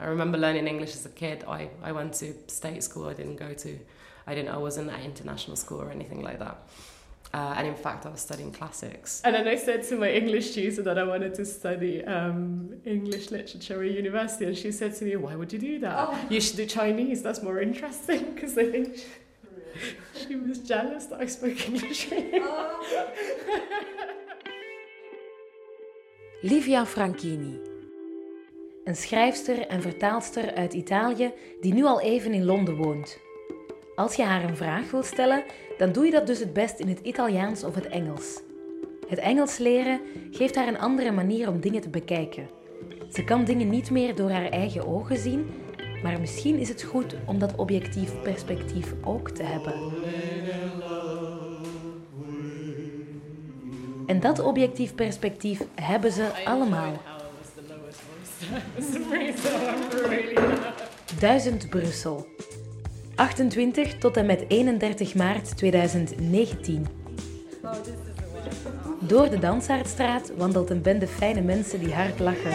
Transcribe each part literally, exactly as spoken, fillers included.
I remember learning English as a kid. I, I went to state school. I didn't go to, I didn't, I wasn't at international school or anything like that. Uh, and in fact, I was studying classics. And then I said to my English tutor that I wanted to study um, English literature at university. And she said to me, why would you do that? Oh. You should do Chinese. That's more interesting. Because I think she, she was jealous that I spoke English. Oh. Livia Franchini. Een schrijfster en vertaalster uit Italië die nu al even in Londen woont. Als je haar een vraag wilt stellen, dan doe je dat dus het best in het Italiaans of het Engels. Het Engels leren geeft haar een andere manier om dingen te bekijken. Ze kan dingen niet meer door haar eigen ogen zien, maar misschien is het goed om dat objectief perspectief ook te hebben. En dat objectief perspectief hebben ze allemaal. Duizend Brussel. achtentwintig tot en met eenendertig maart tweeduizend negentien. Door de Dansaardstraat wandelt een bende fijne mensen die hard lachen.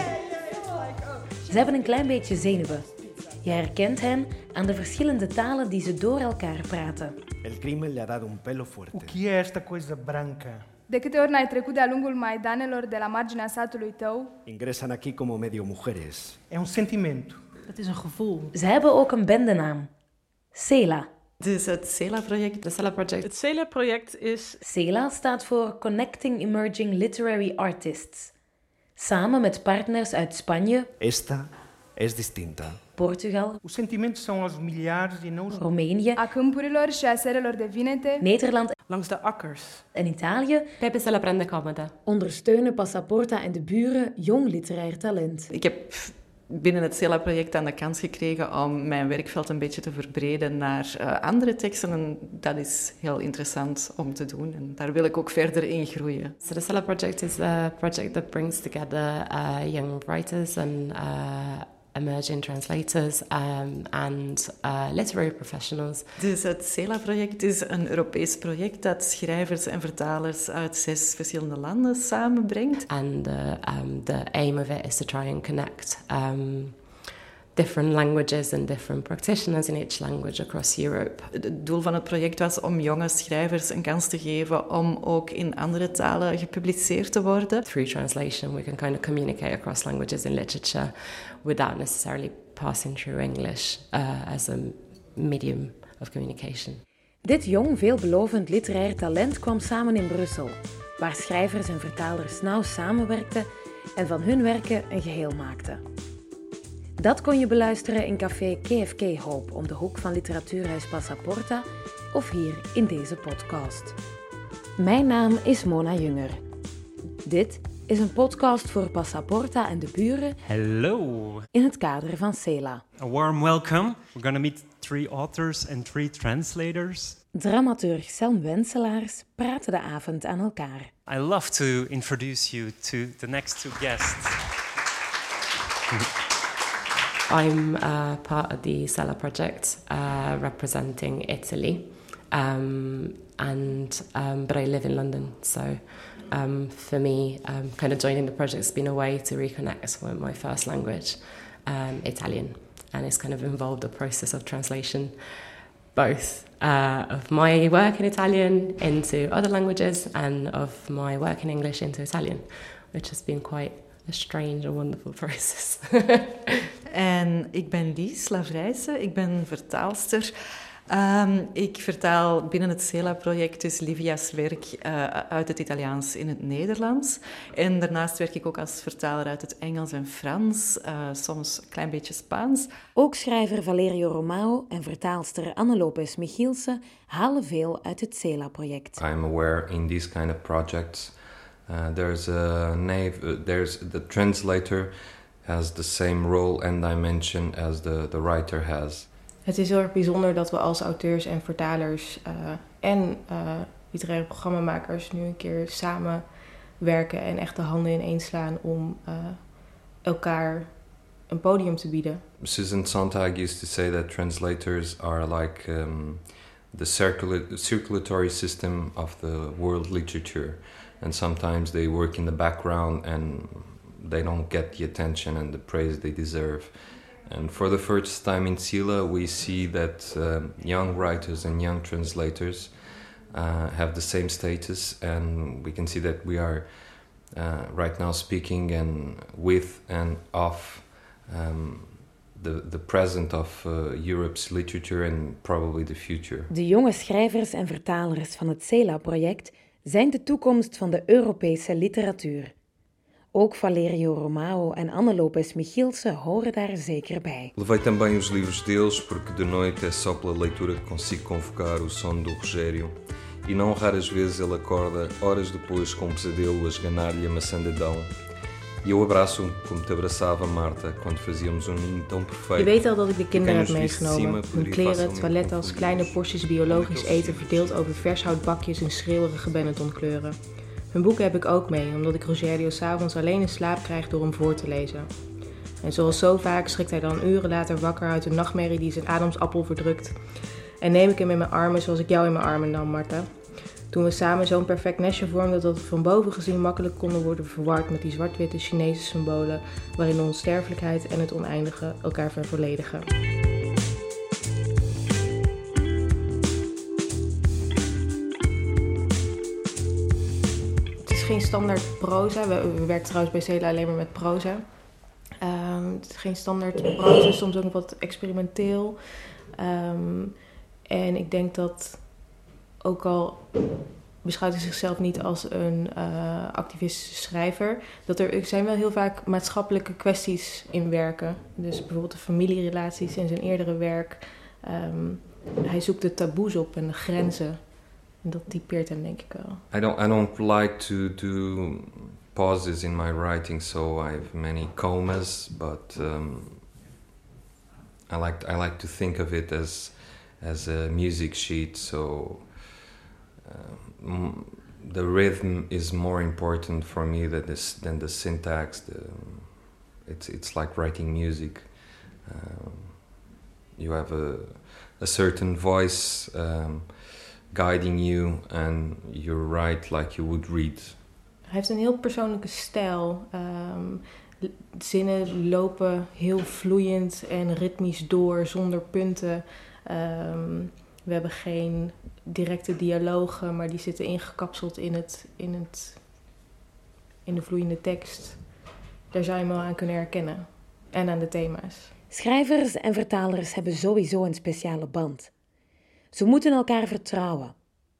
Ze hebben een klein beetje zenuwen. Je herkent hen aan de verschillende talen die ze door elkaar praten. El crimen le ha dado un pelo fuerte. O que é esta coisa branca? De câte ori n-ai trecut de-a lungul maidanelor de la marginea satului tău? Ingresan aquí como medio mujeres. É um sentimento. Het is een gevoel. Ze hebben ook een bendenaam. CELA. Dus het CELA-project, het CELA-project. Het CELA-project is... CELA staat voor Connecting Emerging Literary Artists. Samen met partners uit Spanje, Esta es distinta. Portugal, Os sentimentos são aos milhares e não... Roemenië, A câmpurilor și a serelor de vinete? Nederland Langs de akkers. en Italië Pepe se la prende comoda. ondersteunen Passaporta en de buren jong literair talent. Ik heb binnen het CELA-project aan de kans gekregen om mijn werkveld een beetje te verbreden naar uh, andere teksten. En dat is heel interessant om te doen. En daar wil ik ook verder in groeien. So the CELA project is a project that brings together uh, young writers and uh, emerging translators um, and uh, literary professionals. Dus het CELA-project is een Europees project dat schrijvers en vertalers uit zes verschillende landen samenbrengt. And uh, um, the aim of it is to try and connect um, different languages and different practitioners in each language across Europe. Het doel van het project was om jonge schrijvers een kans te geven om ook in andere talen gepubliceerd te worden. Through translation, we can kind of communicate across languages in literature without necessarily passing through English uh, as a medium of communication. Dit jong, veelbelovend literair talent kwam samen in Brussel, waar schrijvers en vertalers nauw samenwerkten en van hun werken een geheel maakten. Dat kon je beluisteren in café K F K Hope om de hoek van literatuurhuis Passaporta of hier in deze podcast. Mijn naam is Mona Junger. Dit is een podcast voor Passaporta en de buren. Hello. In het kader van CELA. A warm welcome. We're going to meet three authors and three translators. Dramaturg Selm Wenselaars praatte de avond aan elkaar. I love to introduce you to the next two guests. I'm uh, part of the CELA project uh, representing Italy, um, and um, but I live in London, so um, for me, um, kind of joining the project has been a way to reconnect with my first language, um, Italian, and it's kind of involved a process of translation, both uh, of my work in Italian into other languages and of my work in English into Italian, which has been quite a strange and wonderful process. En ik ben Lies Lavrijse, ik ben vertaalster. Um, ik vertaal binnen het CELA-project dus Livia's werk uh, uit het Italiaans in het Nederlands. En daarnaast werk ik ook als vertaler uit het Engels en Frans, uh, soms een klein beetje Spaans. Ook schrijver Valerio Romao en vertaalster Anne Lopez Michielsen halen veel uit het CELA-project. I'm aware in these kind of projects uh, there's a nav- uh, there's the translator has the same role and dimension as the, the writer has. Het is heel erg bijzonder dat we als auteurs en vertalers uh, en uh, literaire programmamakers nu een keer samen werken en echt de handen ineen slaan om uh, elkaar een podium te bieden. Susan Sontag used to say that translators are like um, the circula- circulatory system of the world literature, and sometimes they work in the background and they don't get the attention and the praise they deserve. and for the first time in Sila, we see that um, young writers and young translators uh, have the same status, and we can see that we are uh, right now speaking and with and of um, the, the present of uh, Europe's literature and probably the future. De jonge schrijvers en vertalers van het CELA-project zijn de toekomst van de Europese literatuur. Ook Valerio Romao en Anne Lopes Michielsen horen daar zeker bij. Levei também os livros deles porque de noite é só pela leitura que consigo convocar o sono do Rogério. E não raras vezes ele acorda horas depois com um pesadelo a esganar-lhe a maçã de Adão. E eu abraço-o como te abraçava Marta quando fazíamos um ninho tão perfeito. Je weet al dat ik de kinderen heb meegenomen. Hun kleren, toilettas, kleine porties biologisch eten verdeeld over vershoutbakjes in schreeuwerige Benetton-kleuren. Hun boeken heb ik ook mee, omdat ik Rogério 's avonds alleen in slaap krijg door hem voor te lezen. En zoals zo vaak schrikt hij dan uren later wakker uit een nachtmerrie die zijn ademsappel verdrukt. En neem ik hem in mijn armen zoals ik jou in mijn armen nam, Marta. Toen we samen zo'n perfect nestje vormden dat we van boven gezien makkelijk konden worden verward met die zwart-witte Chinese symbolen waarin de onsterfelijkheid en het oneindige elkaar vervolledigen. Het is geen standaard proza. We, we werken trouwens bij CELA alleen maar met proza. Um, het is geen standaard proza, soms ook wat experimenteel. Um, en ik denk dat, ook al beschouwt hij zichzelf niet als een uh, activistische schrijver, dat er zijn wel heel vaak maatschappelijke kwesties in werken. Dus bijvoorbeeld de familierelaties in zijn eerdere werk. Um, hij zoekt de taboes op en de grenzen. En dat typeert hem, denk ik wel. I don't, I don't like to do pauses in my writing, so I have many commas, but um, I like I like to think of it as as a music sheet. So uh, the rhythm is more important for me than this than the syntax. The, it's it's like writing music. Um, you have a a certain voice um, guiding you, and you write like you would read. Hij heeft een heel persoonlijke stijl. Um, zinnen lopen heel vloeiend en ritmisch door, zonder punten. Um, we hebben geen directe dialogen, maar die zitten ingekapseld in, het, in, het, in de vloeiende tekst. Daar zou je hem wel aan kunnen herkennen. En aan de thema's. Schrijvers en vertalers hebben sowieso een speciale band. Ze moeten elkaar vertrouwen.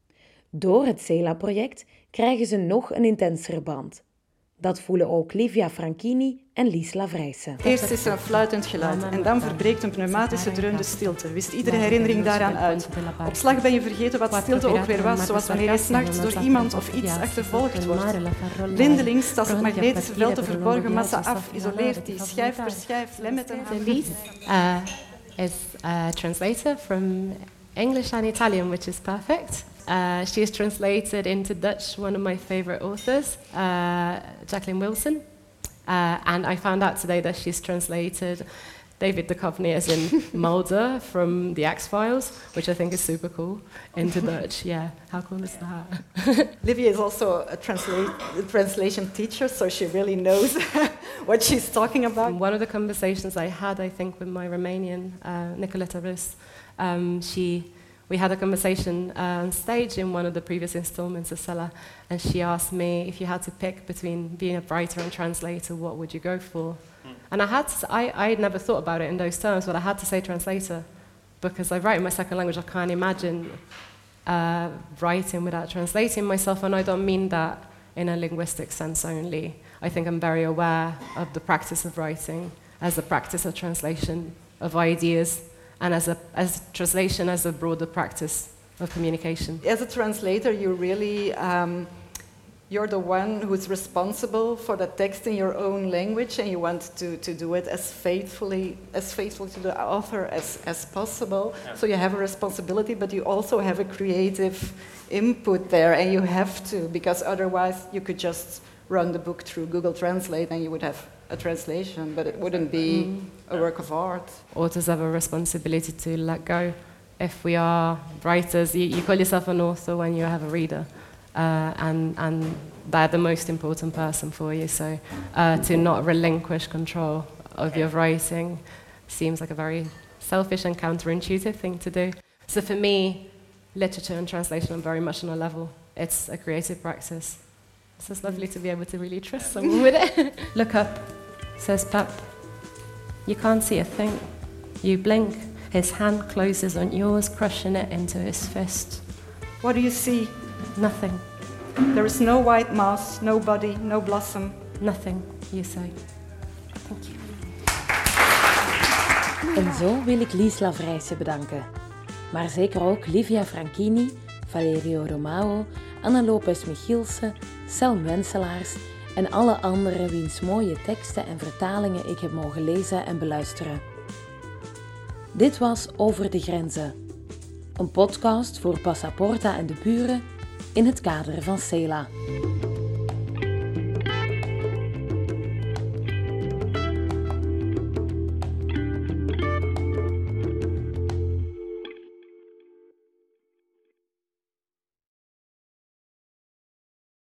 Door het CELA-project krijgen ze nog een intensere band. Dat voelen ook Livia Franchini en Lies Lavrijsen. Eerst is er een fluitend geluid en dan verbreekt een pneumatische dreun de stilte. Wist iedere herinnering daaraan uit. Op slag ben je vergeten wat stilte ook weer was, zoals wanneer je 's nachts door iemand of iets achtervolgd wordt. Blindelings tast het magnetische veld de verborgen massa af, isoleert die schijf per schijf, lemmet en af. Lies uh, is a translator from English and Italian, which is perfect. Uh, she is translated into Dutch, one of my favorite authors, uh, Jacqueline Wilson. Uh, and I found out today that she's translated David Duchovny as in Mulder from The X-Files, which I think is super cool, into Dutch. Yeah, how cool is that? Livia is also a, transla- a translation teacher, so she really knows what she's talking about. One of the conversations I had, I think, with my Romanian, uh, Nicoleta Rus, um, she... We had a conversation uh, on stage in one of the previous installments of CELA, and she asked me if you had to pick between being a writer and translator, what would you go for? Mm. And I had to, I I never thought about it in those terms, but I had to say translator, because I write in my second language. I can't imagine uh, writing without translating myself, and I don't mean that in a linguistic sense only. I think I'm very aware of the practice of writing as a practice of translation of ideas, and as a as translation as a broader practice of communication. As a translator, you really um, you're the one who's responsible for the text in your own language, and you want to, to do it as faithfully as faithful to the author as, as possible. Yeah. So you have a responsibility, but you also have a creative input there, and you have to, because otherwise you could just run the book through Google Translate and you would have a translation, but it wouldn't be mm. a work of art. Authors have a responsibility to let go. If we are writers, you, you call yourself an author when you have a reader, uh, and and they're the most important person for you. So uh, to not relinquish control of your writing. seems like a very selfish and counterintuitive thing to do. So for me, literature and translation are very much on a level. It's a creative practice. So it's lovely to be able to really trust someone with it. Look up, says Pap. You can't see a thing. You blink. His hand closes on yours, crushing it into his fist. What do you see? Nothing. There is no white moss, no body, no blossom. Nothing, you say. Thank you. En zo wil ik Lies Lavrijse bedanken. Maar zeker ook Livia Franchini, Valerio Romao, Anne Lopez-Michielsen, Selm Wenselaars en alle anderen wiens mooie teksten en vertalingen ik heb mogen lezen en beluisteren. Dit was Over de Grenzen, een podcast voor Passaporta en de buren in het kader van C E L A.